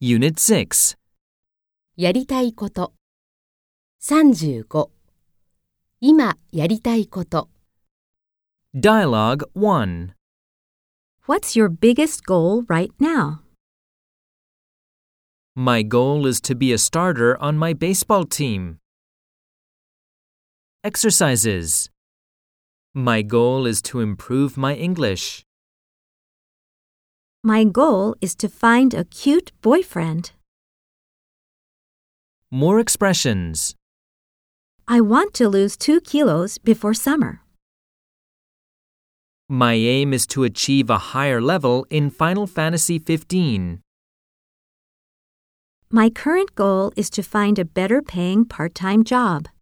Unit 6. やりたいこと。35。今やりたいこと。 Dialogue 1. What's your biggest goal right now? My goal is to be a starter on my baseball team. Exercises. My goal is to improve my English. My goal is to find a cute boyfriend. More expressions. I want to lose 2 kilos before summer. My aim is to achieve a higher level in Final Fantasy 15. My current goal is to find a better paying part-time job.